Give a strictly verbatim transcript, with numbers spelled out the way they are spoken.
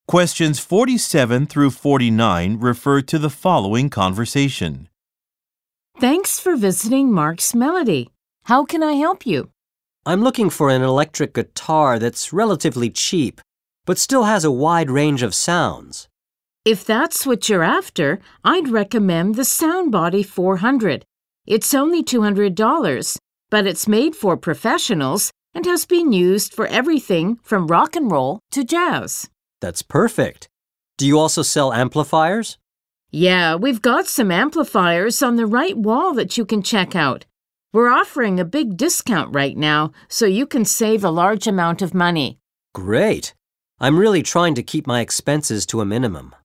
Questions forty-seven through forty-nine refer to the following conversation. Thanks for visiting Mark's Melody. How can I help you? I'm looking for an electric guitar that's relatively cheap, but still has a wide range of sounds. If that's what you're after, I'd recommend the Soundbody four hundred. It's only two hundred dollars, but it's made for professionals and has been used for everything from rock and roll to jazz. That's perfect. Do you also sell amplifiers? Yeah, we've got some amplifiers on the right wall that you can check out. We're offering a big discount right now, so you can save a large amount of money. Great. I'm really trying to keep my expenses to a minimum.